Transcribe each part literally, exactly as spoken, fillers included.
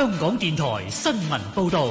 香港電台新聞報道。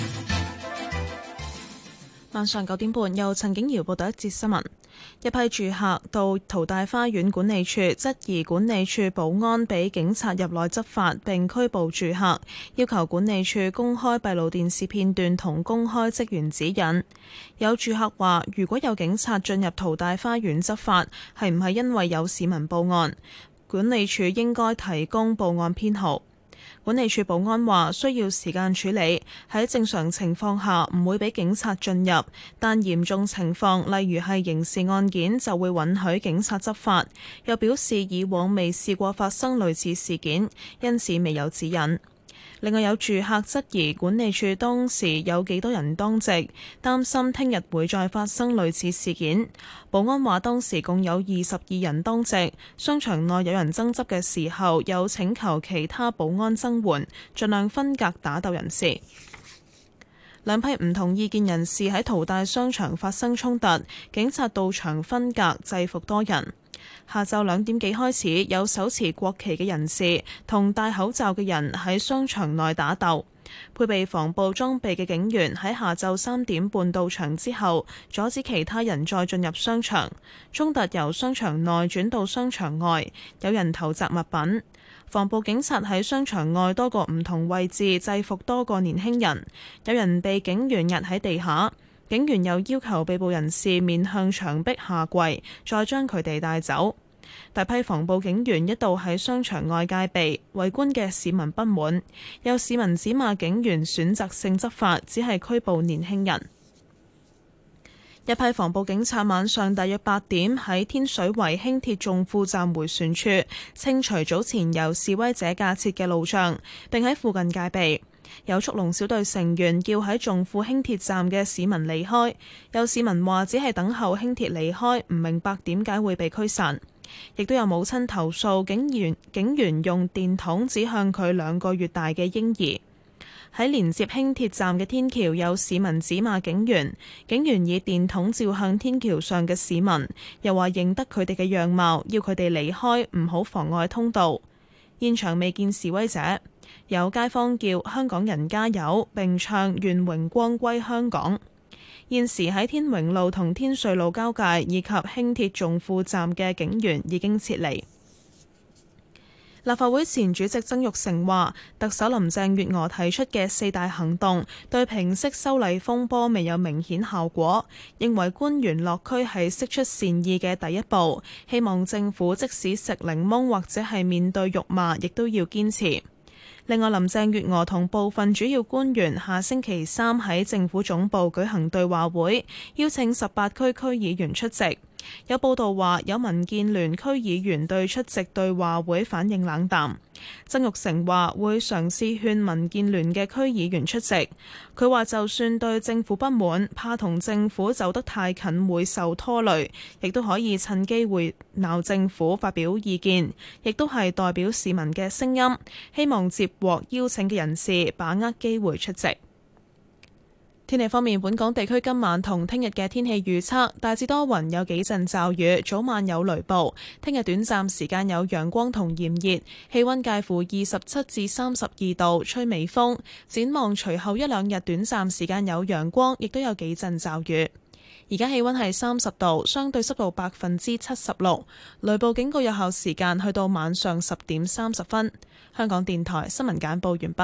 晚上九點半，由陳景瑤報道一節新聞。一批住客到淘大花園管理處質疑管理處保安俾警察入內執法並拘捕住客，要求管理處公開閉路電視片段同公開職員指引。有住客話，如果有警察進入淘大花園執法，係唔係因為有市民報案？管理處應該提供報案編號。管理處保安話需要時間處理，喺正常情況下唔會俾警察進入，但嚴重情況，例如係刑事案件，就會允許警察執法。又表示以往未試過發生類似事件，因此未有指引。另外有住客質疑管理處當時有幾多人當值，擔心聽日會再發生類似事件。保安話當時共有二十二人當值，商場內有人爭執嘅時候，有請求其他保安增援，盡量分隔打鬥人士。兩批唔同意見人士喺淘大商場發生衝突，警察到場分隔制服多人。下晝兩點幾開始，有手持國旗嘅人士同戴口罩嘅人喺商場內打鬥。配備防暴裝備嘅警員喺下晝三點半到場之後，阻止其他人再進入商場。衝突由商場內轉到商場外，有人投擲物品。防暴警察喺商場外多個唔同位置制服多個年輕人，有人被警員壓喺地下。警員又要求被捕人士面向牆壁下跪，再將佢哋帶走。大批防暴警員一度喺商場外戒備，圍觀嘅市民不滿，有市民指罵警員選擇性執法，只係拘捕年輕人。一批防暴警察晚上大約八點喺天水圍輕鐵重富站迴旋處清除早前由示威者架設嘅路障，並喺附近戒備。有速龍小隊成員叫喺重富輕鐵站嘅市民離開，有市民話只係等候輕鐵離開，唔明白點解會被驅散。亦都有母親投訴警員警員用電筒指向佢兩個月大嘅嬰兒。喺連接輕鐵站嘅天橋，有市民指罵警員，警員以電筒照向天橋上嘅市民，又話認得佢哋嘅樣貌，要佢哋離開，唔好妨礙通道。現場未見示威者。有街坊叫香港人加油，並唱願榮光歸香港。現時喺天榮路同天瑞路交界以及輕鐵重富站嘅警員已經撤離。立法會前主席曾鈺成話，特首林鄭月娥提出嘅四大行動對平息修例風波未有明顯效果，認為官員落區係釋出善意嘅第一步，希望政府即使食檸檬或者係面對辱罵，亦都要堅持。另外，林鄭月娥同部分主要官員下星期三喺政府總部舉行對話會，邀請十八區區議員出席。有報道話，有民建聯區議員對出席對話會反應冷淡。曾鈺成話會嘗試勸民建聯嘅區議員出席。佢話就算對政府不滿，怕同政府走得太近會受拖累，亦都可以趁機會鬧政府發表意見，亦都係代表市民嘅聲音。希望接獲邀請嘅人士把握機會出席。天氣方面，本港地區今晚同聽日嘅天氣預測大致多雲，有幾陣驟雨，早晚有雷暴。聽日短暫時間有陽光同炎熱，氣溫介乎二十七至三十二度，吹微風。展望隨後一兩日短暫時間有陽光，亦都有幾陣驟雨。而家氣溫係三十度，相對濕度百分之七十六，雷暴警告有效時間去到晚上十點三十分。香港電台新聞簡報完畢。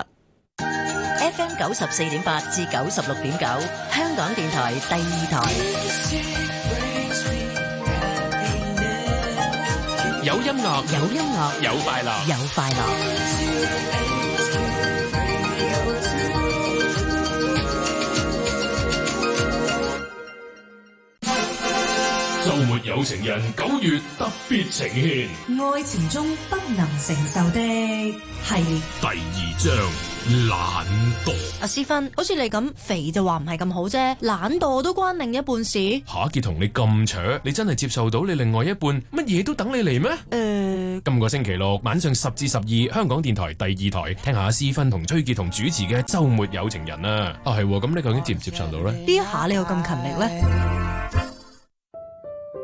F M 九十四點八至九十六點九，香港電台第二台。 有音樂， 有音樂， 有快樂， 有快樂。 周末有情人九月特別呈現， 愛情中不能承受的系列第二章。懶惰。 阿思芬，好似你咁肥就話唔係咁好啫，懶惰都關另一半事。 夏杰同你咁扯，你真係接受到你另外一半乜嘢都等你嚟咩？誒、呃，今個星期六晚上十至十二，香港電台第二台，聽下阿思芬同崔杰同主持嘅周末有情人啊！啊係，咁你究竟接唔接受到呢？ 呢一下你又咁勤力呢？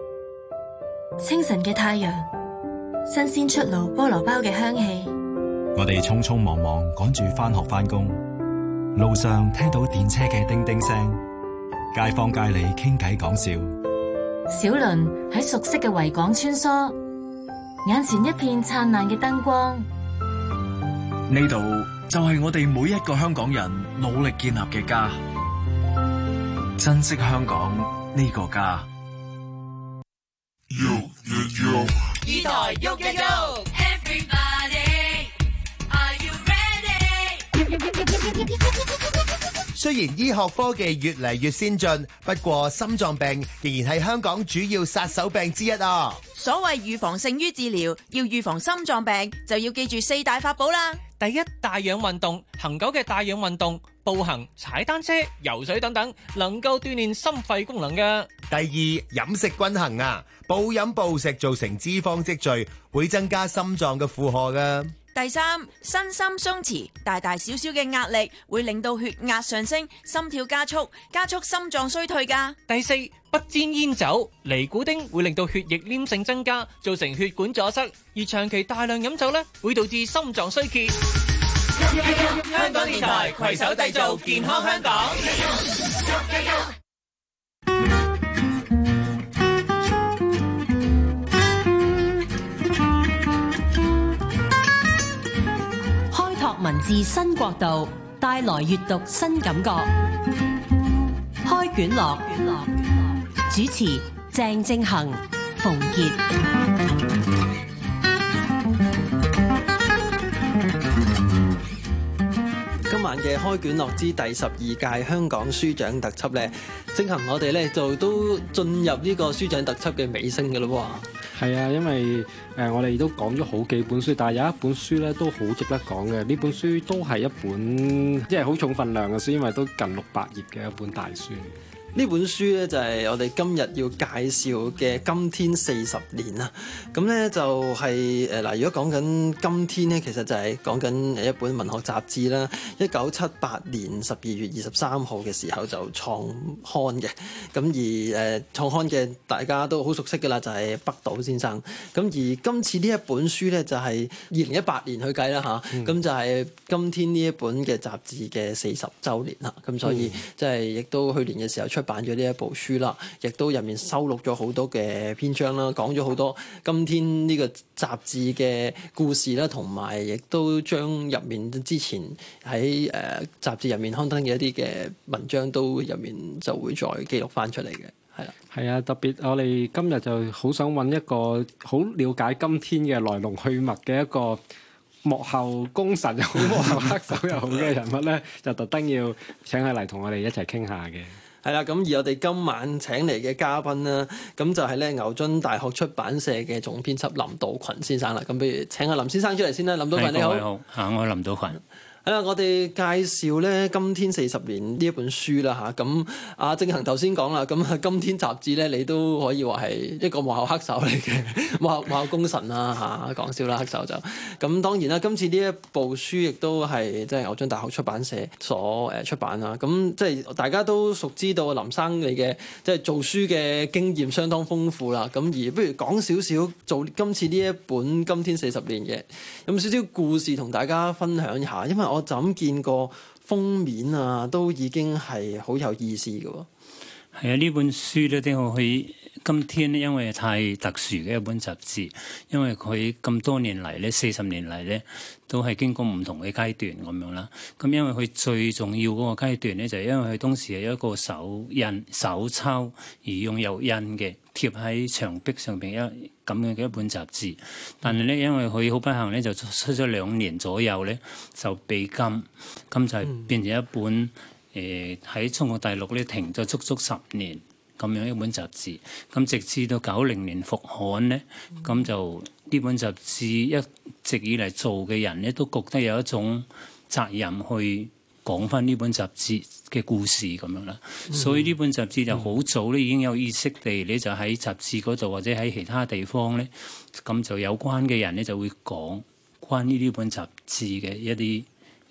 清晨嘅太陽，新鮮出爐菠蘿包嘅香氣， 我哋匆匆忙忙趕住返學返工，路上聽到電車嘅叮叮聲，街坊街里傾偈講笑。 小輪喺熟悉嘅維港穿梭，眼前一片燦爛嘅燈光。 呢度就係我哋每一個香港人努力建立嘅家，珍惜香港呢個家。 Yo, yo, yo. 二台喐一喐 ，Everybody, are you ready？ 雖然醫學科技越嚟越先進，不過心臟病仍然係香港主要殺手病之一啊！ 所謂預防勝於治療，要預防心臟病就要記住四大法寶啦。 第一，帶氧運動，恒久嘅帶氧運動，步行、踩單車、游水等等，能夠鍛煉心肺功能嘅。 第二，飲食均衡啊，暴飲暴食造成脂肪積聚，會增加心臟嘅負荷噶。 第三，身心鬆弛，大大小小嘅壓力會令到血壓上升，心跳加速，加速心臟衰退噶。 第四，不沾煙酒，尼古丁會令到血液黏性增加，造成血管阻塞，而長期大量飲酒呢，會導致心臟衰竭。 香港電台攜手締造健康香港。 開拓文字新國度，帶來閱讀新感覺。開卷樂，主持鄭正恒、馮傑。 今晚嘅開卷樂之第十二屆香港書獎特輯咧，正行我哋咧就都進入呢個書獎特輯嘅尾聲嘅咯喎。 係啊，因為誒、呃、我哋都講咗好幾本書，但係有一本書咧都好值得講嘅。呢本書都係一本即係好重分量嘅書，因為都近六百頁嘅一本大書。 呢本書咧就係我哋今日要介紹嘅《今天四十年》啦。咁咧就係誒嗱，如果講緊今天咧，其實就係講緊一本文學雜誌啦。一九七八年十二月二十三號嘅時候就創刊嘅。咁而誒創刊嘅大家都好熟悉㗎啦，就係北島先生。咁而今次呢一本書咧就係二零一八年去計啦吓，咁、嗯、就係今天呢一本嘅雜誌嘅四十週年啦。咁所以即係亦都去年嘅時候出版咗呢一部書啦，亦都入面收錄咗好多嘅篇章啦，講咗好多今天呢個雜誌嘅故事啦，同埋亦都將入面之前喺誒、呃、雜誌入面刊登嘅一啲嘅文章都入面就會再記錄翻出嚟嘅，係啦。 係啊，特別我哋今日就好想揾一個好了解今天嘅來龍去脈嘅一個幕後功臣又好，幕後黑手又好嘅人物咧，就特登要請佢嚟同我哋一齊傾下嘅。 係啦，咁而我哋今晚請嚟嘅嘉賓啦，咁就係咧牛津大學出版社嘅總編輯林道群先生啦。咁不如請阿林先生出嚟先啦。林道群你好。 你好，啊，我係林道群。 係啦，我哋介紹咧《今天四十年》呢一本書啦嚇，咁阿正恒頭先講啦，咁《今天》雜誌咧，你都可以話係一個幕後黑手嚟嘅，幕後幕後功臣啦嚇，講笑啦，黑手就咁。當然啦，今次呢一部書亦都係即係牛津大學出版社所誒出版啦。咁即係大家都熟知道林生你嘅即係做書嘅經驗相當豐富啦。咁而不如講少少做今次呢一本《今天四十年》嘅有冇少少故事同大家分享一下，因為我就咁見過封面啊，都已經係好有意思嘅喎。 係啊，呢本書咧，點解去今天咧？因為太特殊嘅一本雜誌，因為佢咁多年嚟咧，四十年嚟咧，都係經過唔同嘅階段咁樣啦。咁因為佢最重要嗰個階段咧，就係因為佢當時係一個手印手抄而用油印嘅貼喺牆壁上邊一咁樣嘅一本雜誌。但係咧，因為佢好不幸咧，就出咗兩年左右咧就被禁，咁就係變成一本。誒喺中國大陸咧停咗足足十年咁樣一本雜誌，咁直至到九零年復刊咧，咁、嗯、就呢本雜誌一直以嚟做嘅人咧都覺得有一種責任去講翻呢本雜誌嘅故事咁樣啦，嗯、所以呢本雜誌就好早咧已經有意識地咧就喺雜誌嗰度或者喺其他地方咧，咁就有關嘅人咧就會講關於呢本雜誌嘅一啲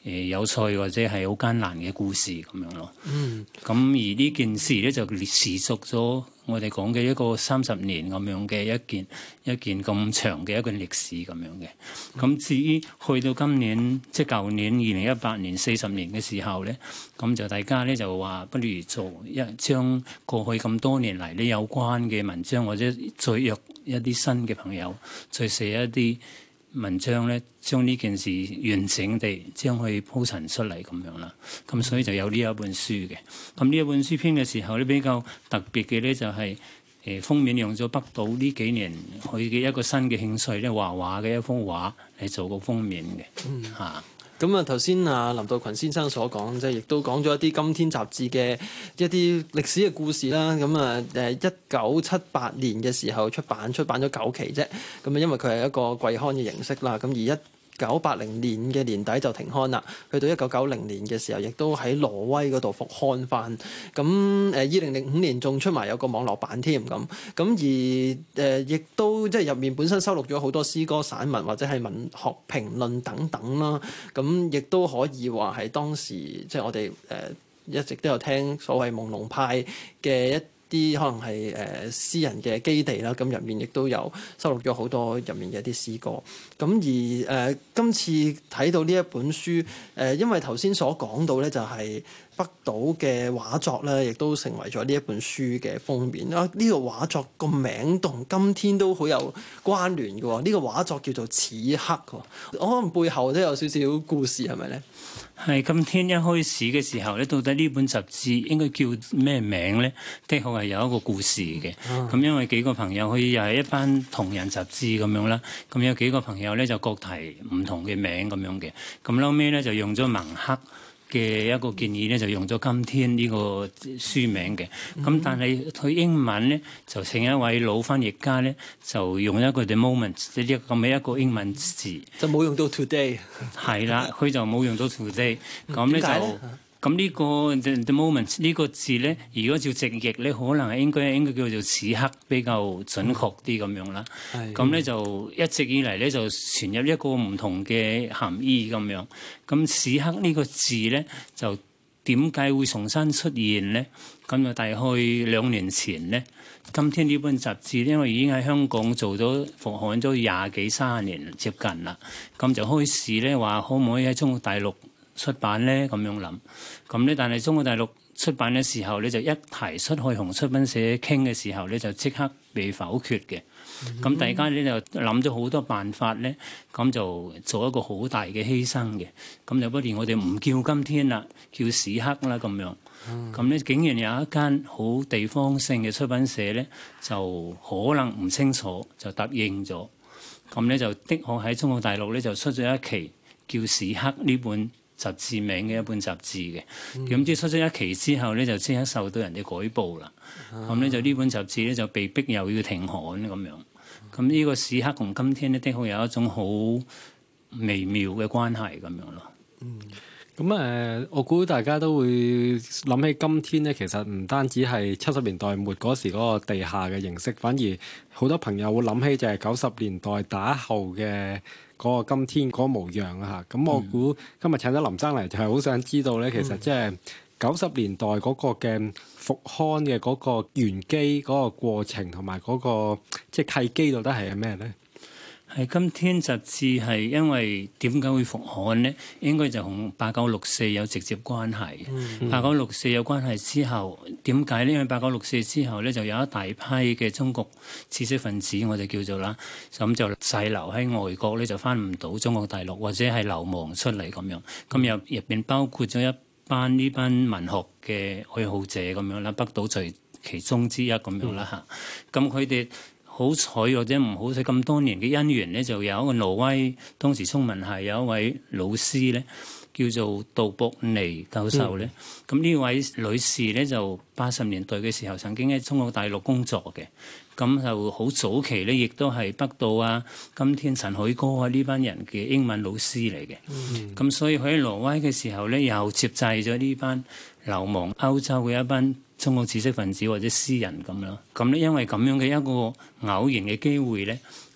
誒有趣或者係好艱難嘅故事咁樣咯。 嗯， 咁而呢件事咧就持續咗我哋講嘅一個三十年咁樣嘅一件一件咁長嘅一個歷史咁樣嘅。咁至於去到今年即係舊年二零一八年四十年嘅時候咧，咁就大家咧就話不如做一將過去咁多年嚟呢有關嘅文章，或者再約一啲新嘅朋友，再寫一啲文章咧，將呢件事完整地將佢鋪陳出嚟咁樣啦。咁所以就有呢一本書嘅。咁呢一本書編嘅時候咧，比較特別嘅咧就係、是、誒封面用咗北島呢幾年佢嘅一個新嘅興趣咧，畫畫嘅一幅畫嚟做個封面嘅。 嗯嚇。 咁啊，頭先啊林道群先生所講，即係亦都講咗一啲今天雜誌嘅一啲歷史嘅故事啦。咁啊，誒一九七八年嘅時候出版，出版咗九期啫。咁啊，因為佢係一個季刊嘅形式啦。咁而一九八零年嘅年底就停刊啦，去到一九九零年嘅時候，亦都喺挪威嗰度復刊翻。咁誒二零零五年仲出埋有個網絡版添咁。咁而誒、呃、亦都即係入面本身收錄咗好多詩歌、散文或者係文學評論等等啦。咁亦都可以話係當時即係我哋誒、呃、一直都有聽所謂朦朧派嘅一啲可能係誒、呃、私人嘅基地啦，咁入面亦都有收錄咗好多入面嘅一啲詩歌。咁而誒、呃、今次睇到呢一本書，誒、呃、因為頭先所講到咧，就係北島嘅畫作咧，亦都成為咗呢一本書嘅封面啊！呢、這個畫作個名同今天都好有關聯嘅喎。呢、這個畫作叫做《此刻》喎，可能背後都有少少故事，係咪咧？ 係今天一開始嘅時候咧，到底呢本雜誌應該叫咩名咧？的確係有一個故事嘅。咁、嗯、因為幾個朋友，佢又係一班同人雜誌咁樣啦。咁有幾個朋友咧就各提唔同嘅名咁樣嘅。咁後尾咧就用咗蒙克嘅一個建議咧，就用咗今天呢個書名嘅。咁、嗯、但係佢英文咧就請一位老翻譯家咧，就用一個 the moment 呢啲咁嘅一個英文字， 就冇用到 today。 係啦，佢就冇用到 today。咁咧就咁呢個 the, the moment 呢個字咧，如果照直譯咧，可能係應該應該叫做此刻比較準確啲咁樣啦。咁咧、嗯、就一直以嚟咧就傳入一個唔同嘅含義咁樣。咁此刻呢個字咧就點解會重新出現咧？咁就大概兩年前咧，今天呢本雜誌因為已經喺香港做咗復刊咗廿幾三十年接近啦，咁就開始咧話可唔可以喺中國大陸出版咧？咁樣諗，咁咧但係中國大陸出版嘅時候咧，就一提出去同出版社傾嘅時候咧，就即刻被否決嘅。咁、嗯、大家咧就諗咗好多辦法咧，咁就做一個好大嘅犧牲嘅。咁就不如我哋唔叫今天啦，叫此刻啦咁樣。咁咧、嗯、竟然有一間好地方性嘅出版社咧，就可能唔清楚就答應咗。咁咧就的確喺中國大陸咧就出咗一期叫《此刻》呢本雜誌名嘅一本雜誌嘅。咁即係出咗一期之後咧，就即刻受到人哋舉報啦。咁咧、啊、就呢本雜誌咧就被逼又要停刊咁樣。咁呢個此刻同今天咧的確有一種好微妙嘅關係咁樣咯。 嗯，咁誒、呃，我估大家都會諗起今天咧，其實唔單止係七十年代末嗰時嗰個地下嘅形式，反而好多朋友會諗起就係九十年代打後嘅嗰個今天嗰個模樣啊嚇。咁我估今日請咗林生嚟，就係好想知道咧，其實即係九十年代嗰個嘅復刊嘅嗰個原機嗰個過程同埋嗰個即係契機到底係咩咧？ 係今天雜誌係因為點解會復刊呢？應該就同八九六四有直接關係。嗯、八九六四有關係之後，點解呢？因為八九六四之後咧，就有一大批嘅中國知識分子，我哋叫做啦，咁就滯留喺外國咧，就翻唔到中國大陸，或者係流亡出嚟咁樣。咁入入邊包括咗一班呢班文學嘅愛好者咁樣啦，北島在其中之一咁樣啦嚇。咁佢哋好彩或者唔好彩，咁多年嘅姻緣咧，就有一個挪威當時中文系有一位老師咧，叫做杜博尼教授咧。咁呢、嗯、位女士咧，就八十年代嘅時候曾經喺中國大陸工作嘅，咁就好早期咧，亦都係北島啊、今天陳凱歌啊呢班人嘅英文老師嚟嘅。咁、嗯、所以佢喺挪威嘅時候咧，又接濟咗呢班流亡歐洲嘅一班中國知識分子或者詩人咁咯。咁咧因為咁樣嘅一個偶然嘅機會咧，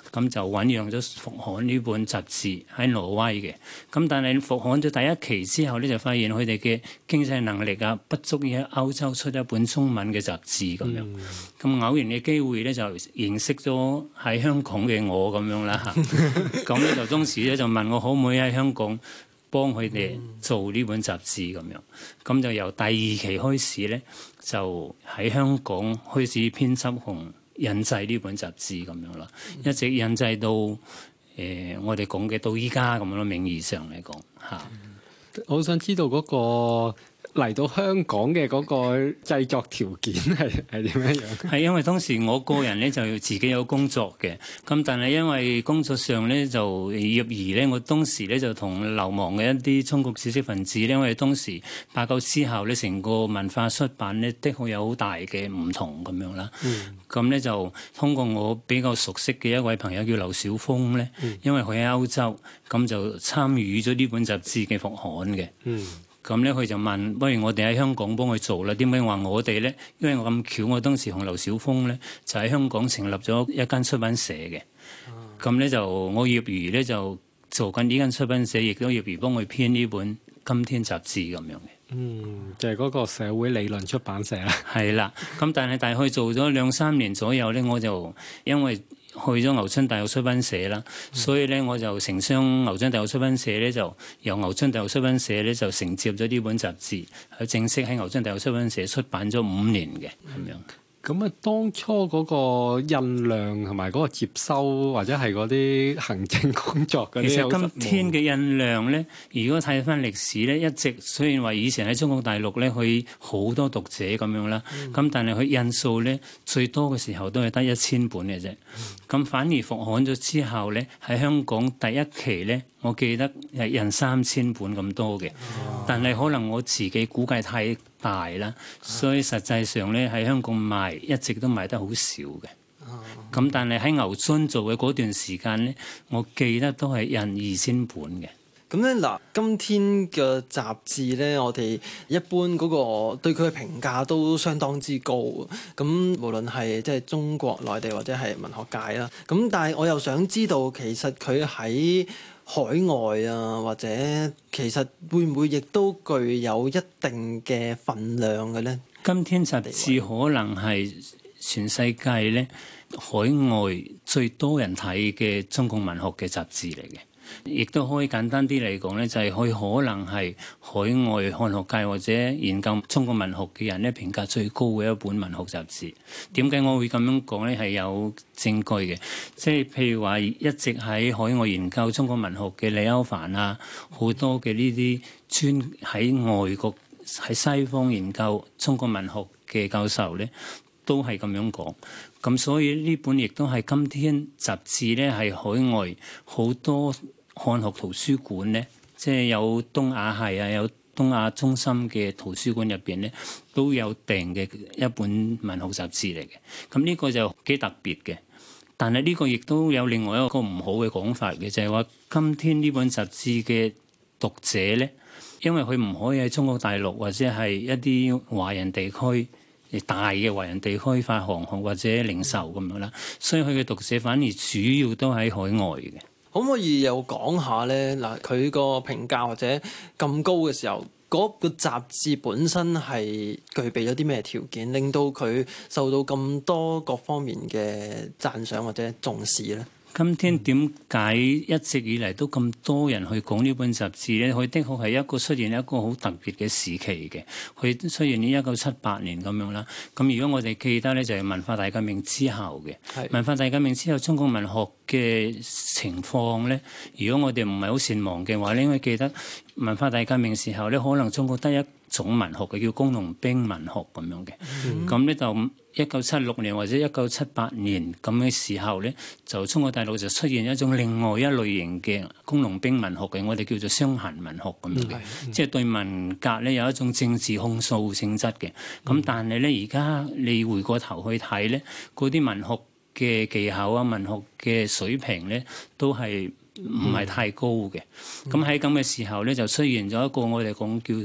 咁就醖釀咗復刊呢本雜誌喺挪威嘅。咁但係復刊咗第一期之後咧，就發現佢哋嘅經濟能力啊不足以喺歐洲出一本中文嘅雜誌咁樣。咁、嗯、偶然嘅機會咧就認識咗喺香港嘅我咁樣啦嚇。咁咧就當時咧就問我可唔可以喺香港幫佢哋做呢本雜誌咁樣。咁就由第二期開始咧，就喺香港開始編輯同印製呢本雜誌咁樣啦，一直印製到誒、呃、我哋講嘅到依家咁樣咯，名義上嚟講嚇。 我想知道嗰個嚟到香港嘅嗰個製作條件係係點樣樣？ 係因為當時我個人咧就自己有工作嘅，咁但係因為工作上咧就業餘咧，我當時咧就同流亡嘅一啲中國知識分子咧，因為當時八九之後咧，成個文化出版咧的確有好大嘅唔同咁樣啦。咁咧、嗯、就通過我比較熟悉嘅一位朋友叫劉小峰咧，嗯、因為佢喺歐洲，咁就參與咗呢本雜誌嘅復刊嘅。嗯咁咧，佢就問：不如我哋喺香港幫佢做啦？點解話我哋咧？因為我咁巧，我當時同劉小峰咧就喺香港成立咗一間出版社嘅。咁咧、啊、就我業餘咧就做緊呢間出版社，亦都業餘幫佢編呢本《今天》雜誌咁樣嘅。 嗯，就係、是、嗰個社會理論出版社啦。 係啦，咁但係大概做咗兩三年左右咧，我就因為去咗牛津大學出版社啦，嗯、所以咧我就承商牛津大學出版社咧，就由牛津大學出版社咧就承接咗呢本雜誌，係正式喺牛津大學出版社出版咗五年嘅咁樣。 咁啊，當初嗰個印量同埋嗰個接收或者係嗰啲行政工作嗰啲， 其實今天嘅印量咧，如果睇翻歷史咧，一直雖然話以前喺中國大陸咧，佢好多讀者咁樣啦，咁、嗯、但係佢印數咧最多嘅時候都係得一千本嘅啫。咁、嗯、反而復刊咗之後咧，喺香港第一期咧，我記得係印三千本咁多嘅，哦、但係可能我自己估計太大啦，所以實際上咧喺香港賣一直都賣得好少嘅。咁、哦、但係喺牛津做嘅嗰段時間咧，我記得都係印二千本嘅。 咁咧嗱，今天嘅雜誌咧，我哋一般嗰個對佢嘅評價都相當之高。咁無論係即係中國內地或者係文學界啦。咁但係我又想知道，其實佢喺海外啊，或者其實會唔會亦都具有一定嘅份量嘅咧？ 今天雜誌可能係全世界咧海外最多人睇嘅中國文學嘅雜誌嚟嘅。亦都可以簡單啲嚟講咧，就係、是、佢可能係海外漢學界或者研究中國文學嘅人咧評價最高嘅一本文學雜誌。點解我會咁樣講咧？係有證據嘅，即係譬如話一直喺海外研究中國文學嘅李歐梵啊，好多嘅呢啲專喺外國喺西方研究中國文學嘅教授咧，都係咁樣講。咁所以呢本亦都係今天雜誌咧，係海外好多漢學圖書館咧，即係有東亞系啊，有東亞中心嘅圖書館入邊咧，都有訂嘅一本文學雜誌嚟嘅。咁呢個就幾特別嘅。但係呢個亦都有另外一個唔好嘅講法嘅，就係話今天呢本雜誌嘅讀者咧，因為佢唔可以喺中國大陸或者係一啲華人地區大嘅華人地區發行或者零售咁樣啦，所以佢嘅讀者反而主要都喺海外嘅。 可唔可以又講下咧？嗱，佢個評價或者咁高嘅時候，嗰個雜誌本身係具備咗啲咩條件，令到佢受到咁多各方面嘅讚賞或者重視咧？ 今天點解一直以嚟都咁多人去講呢本雜誌咧？佢的確係一個出現一個好特別嘅時期嘅，佢出現於一九七八年咁樣啦。咁如果我哋記得咧，就係文化大革命之後嘅。是文化大革命之後，中國文學嘅情況咧，如果我哋唔係好善忘嘅話咧，應該記得文化大革命時候咧，可能中國得一種文學嘅叫工農兵文學咁樣嘅。咁咧、嗯、就一九七六年或者一九七八年咁嘅時候咧，就中國大陸就出現一種另外一類型嘅工農兵文學嘅，我哋叫做傷痕文學咁樣嘅，嗯、即係對文革咧有一種政治控訴性質嘅。咁、嗯、但係咧，而家你回過頭去睇咧，嗰啲文學嘅技巧啊、文學嘅水平咧，都係唔係太高嘅。咁喺咁嘅時候咧，就出現咗一個我哋講叫做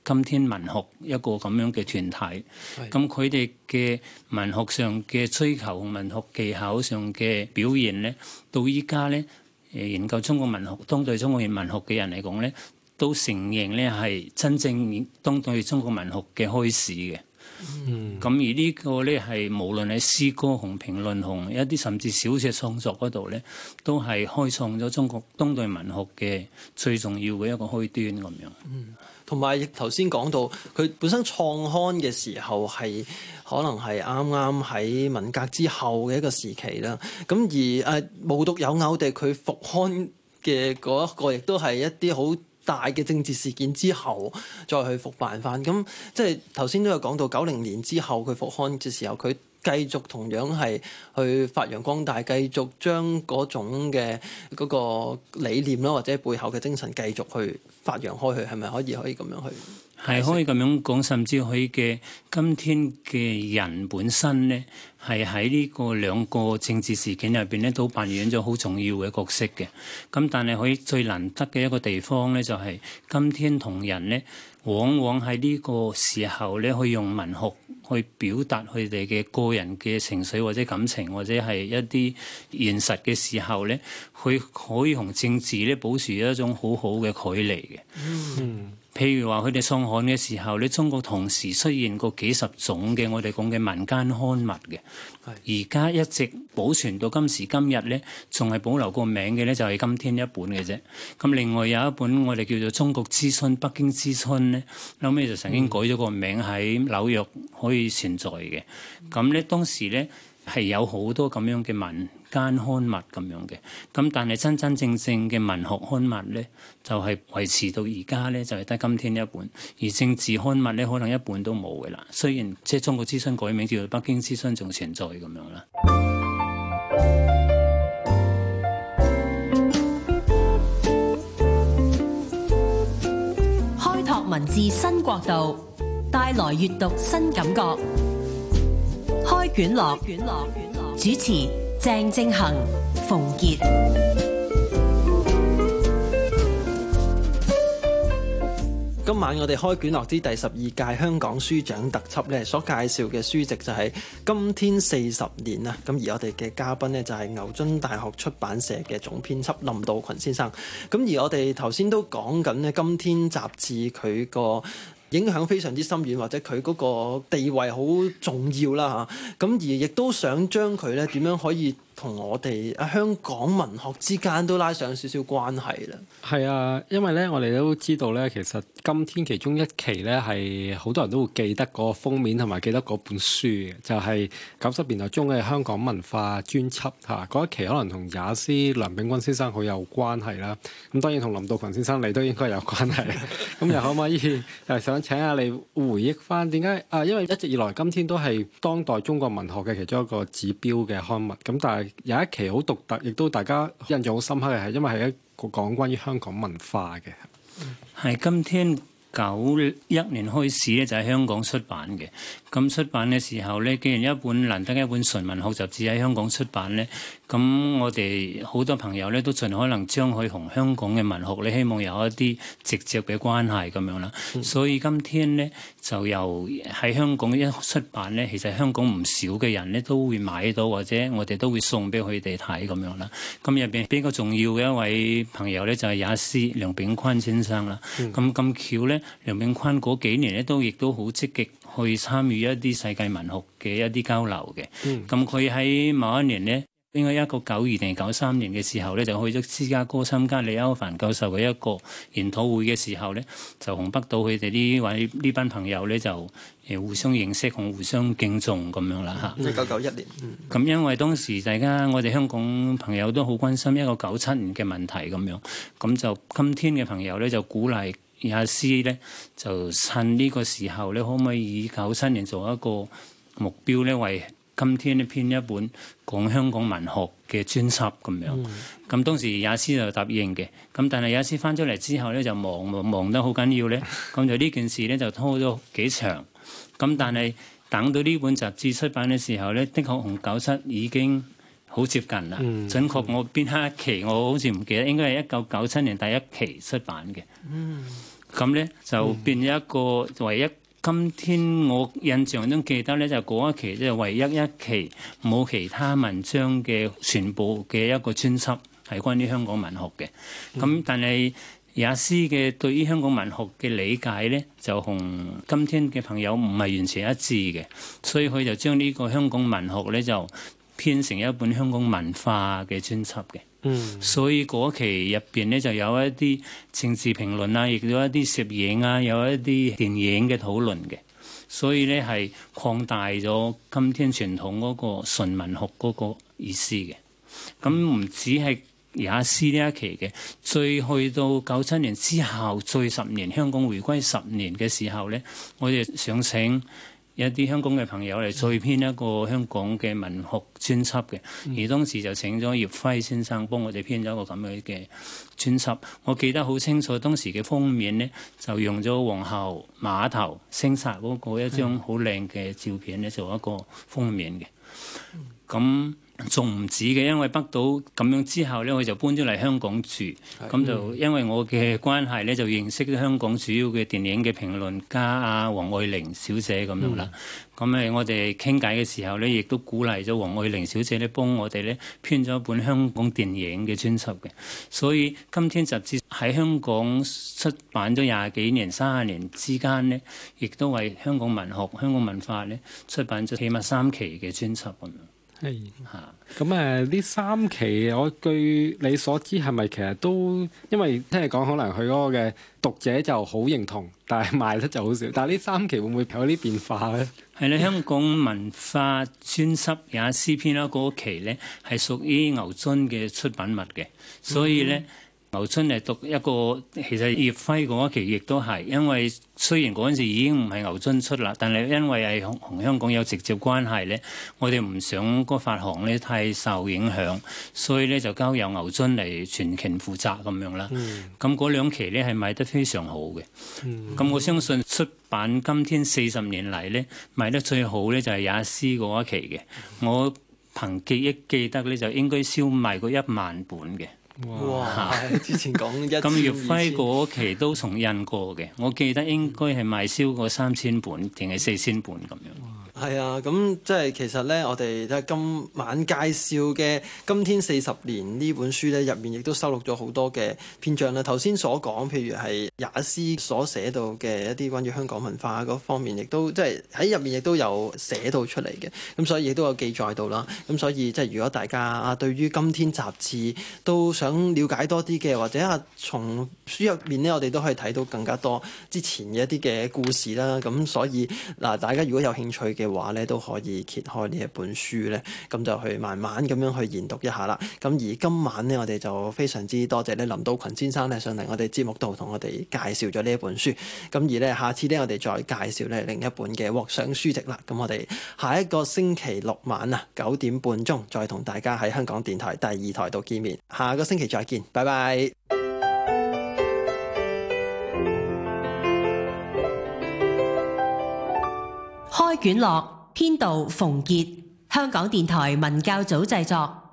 今天文學一個咁樣嘅團體。咁佢哋嘅文學上嘅追求、文學技巧上嘅表現咧，到依家咧誒研究中國文學、當代中國文學嘅人嚟講咧，都承認咧係真正當代中國文學嘅開始嘅。嗯，咁而呢個咧係無論喺詩歌同評論同一啲甚至小説創作嗰度咧，都係開創咗中國當代文學嘅最重要嘅一個開端咁樣。 嗯，同埋亦頭先講到佢本身創刊嘅時候係可能係啱啱喺文革之後嘅一個時期啦。咁而誒無獨有偶地，佢復刊嘅嗰一個亦都係一啲好大嘅政治事件之後再去復辦翻，咁即係頭先都有講到九零年之後佢復刊嘅時候，佢繼續同樣係去發揚光大，繼續將嗰種嘅嗰個理念啦，或者背後嘅精神繼續去發揚開去，係咪可以可以咁樣去？ 係可以咁樣講，甚至佢嘅今天嘅人本身咧，係喺呢個兩個政治事件入邊咧，都扮演咗好重要嘅角色嘅。咁但係佢最難得嘅一個地方咧，就係今天同人咧，往往喺呢個時候咧，去用文學去表達佢哋嘅個人嘅情緒或者感情，或者係一啲現實嘅時候咧，佢可以同政治咧保持一種好好嘅距離嘅。嗯。譬如話佢哋創刊嘅時候咧，中國同時出現過幾十種嘅我哋講嘅民間刊物嘅，而家一直保存到今時今日咧，仲係保留個名嘅咧，就係今天一本嘅啫。咁另外有一本我哋叫做《中國之春》、《北京之春》咧，後尾就曾經改咗個名喺紐約可以存在嘅。咁咧當時咧係有好多咁樣嘅民間刊物咁樣嘅，咁但係真真正正嘅文學刊物咧，就係維持到而家咧，就係得今天一本，而政治刊物咧，可能一本都冇嘅啦。雖然即係中國之春改名叫做北京之春，仲存在咁樣啦。 開拓文字新國度，帶來閱讀新感覺。開卷樂，主持鄭正恒、馮傑。 今晚我哋開卷樂之第十二屆香港書獎特輯咧，所介紹嘅書籍就係《今天四十年》啊！咁而我哋嘅嘉賓呢，就係牛津大學出版社嘅總編輯林道群先生。咁而我哋頭先都講緊呢，《今天》雜誌佢個影響非常之深遠，或者佢嗰個地位好重要啦嚇。咁而亦都想將佢咧點樣可以同我哋啊香港文學之間都拉上少少關係啦。 係啊，因為咧我哋都知道咧，其實今天其中一期咧係好多人都會記得嗰個封面同埋記得嗰本書嘅，就係九十年代中嘅香港文化專輯嚇。嗰一期可能同也斯梁秉鈞先生好有關係啦。咁當然同林道群先生你都應該有關係。咁又可唔可以又想請下你回憶翻點解啊？因為一直以來今天都係當代中國文學嘅其中一個指標嘅刊物。咁但係有一期好獨特，亦都大家印象好深刻嘅係，因為係一個講關於香港文化嘅。 係今天九一年開始咧，就喺香港出版嘅。咁出版嘅時候咧，既然一本難得一本純文學雜誌喺香港出版咧，咁我哋好多朋友咧都盡可能將佢同香港嘅文學咧，希望有一啲直接嘅關係咁樣啦。嗯、所以今天咧就由喺香港一出版咧，其實香港唔少嘅人咧都會買到，或者我哋都會送俾佢哋睇咁樣啦。咁入邊比較重要嘅一位朋友咧就係也斯梁秉鈞先生啦。咁咁巧咧，梁秉鈞嗰幾年咧都亦都好積極去參與一啲世界文學嘅一啲交流嘅。咁佢喺某一年咧，應該一九九二定九三年嘅時候咧，就去咗芝加哥參加李歐梵教授嘅一個研討會嘅時候咧，就同北島佢哋呢位呢班朋友咧就誒互相認識同互相敬重咁樣啦嚇。 一九九一年。 咁、嗯、因為當時大家我哋香港朋友都好關心一個九七年嘅問題咁樣，咁就今天嘅朋友咧就鼓勵也斯咧就趁呢個時候咧，可唔可以以九七年做一個目標咧，為今天呢編一本講香港文學嘅專輯咁樣。咁、嗯、當時也斯就答應嘅，咁但係也斯翻咗嚟之後咧就忙忙得好緊要咧，咁就呢件事咧就拖咗幾長。咁但係等到呢本雜誌出版嘅時候咧，的確同九七已經好接近啦。嗯、準確我邊刻一期我好似唔記得，應該係一九九七年第一期出版嘅。嗯咁咧就變咗一個唯一。今天我印象中記得咧，就嗰一期即係唯一一期冇其他文章嘅全部嘅一個專輯係關於香港文學嘅。咁、嗯、但係也斯嘅對於香港文學嘅理解咧，就同今天嘅朋友唔係完全一致嘅，所以佢就將呢個香港文學咧就編成一本香港文化嘅專輯嘅。嗯，所以嗰期入邊咧就有一啲政治評論啊，亦都有一啲攝影啊，有一啲電影嘅討論嘅，所以咧係擴大咗今天傳統嗰個純文學嗰個意思嘅。咁唔止係也斯呢一期嘅，最去到九七年之後，最十年香港回歸十年嘅時候咧，我哋想請有啲香港嘅朋友嚟再編一個香港嘅文學專輯嘅，而當時就請咗葉輝先生幫我哋編咗一個咁樣嘅專輯。我記得好清楚，當時嘅封面呢，就用咗皇后碼頭聲煞嗰個一張好靚嘅照片咧做一個封面嘅。咁仲唔止嘅，因為北島咁樣之後咧，我就搬咗嚟香港住，咁就因為我嘅關係咧，就認識咗香港主要嘅電影嘅評論家啊，黃愛玲小姐咁樣啦。咁誒、嗯，我哋傾偈嘅時候咧，亦都鼓勵咗黃愛玲小姐咧，幫我哋咧編咗一本香港電影嘅專輯嘅。所以今天雜誌喺香港出版咗廿幾年、三十年之間咧，亦都為香港文學、香港文化咧出版咗起碼三期嘅專輯咁樣。 係嚇，咁誒呢三期，我據你所知係咪其實都因為聽你講，可能佢嗰個嘅讀者就好認同，但係賣得就好少。但係呢三期會唔會有啲變化咧？ 係咧，香港文化專輯也斯編啦嗰期咧，係屬於牛津嘅出版物嘅，所以咧。嗯牛津係讀一個，其實葉輝嗰一期亦都係，因為雖然嗰陣時已經唔係牛津出啦，但係因為係同香港有直接關係咧，我哋唔想個發行咧太受影響，所以咧就交由牛津嚟全權負責咁樣啦。咁嗰、嗯、兩期咧係賣得非常好嘅。咁、嗯、我相信出版今天四十年嚟咧賣得最好咧就係也斯嗰一期嘅。我憑記憶記得咧就應該銷賣過一萬本嘅。 哇！之前講一咁葉輝嗰期都重印過嘅，我記得應該係賣超過三千本定係四千本咁樣。 係啊，咁即係其實咧，我哋即係今晚介紹嘅《今天四十年》呢本書咧，入面亦都收錄咗好多嘅篇章啦。頭先所講，譬如係也斯所寫到嘅一啲關於香港文化嗰方面，亦都即係喺入面亦都有寫到出嚟嘅。咁所以亦都有記載到啦。咁所以即係如果大家啊對於《今天》雜誌都想了解多啲嘅，或者啊從書入面咧，我哋都可以睇到更加多之前嘅一啲嘅故事啦。咁所以嗱，大家如果有興趣嘅，嘅話咧都可以揭開呢一本書咧，咁就去慢慢咁樣去研讀一下啦。咁而今晚呢，我哋就非常之多謝咧林道群先生咧上嚟我哋節目度同我哋介紹咗呢一本書。咁而咧下次咧我哋再介紹咧另一本嘅獲賞書籍啦。咁我哋下一個星期六晚啊九點半鐘再同大家喺香港電台第二台度見面。下個星期再見，拜拜。 開卷樂編導馮傑，香港電台文教組製作。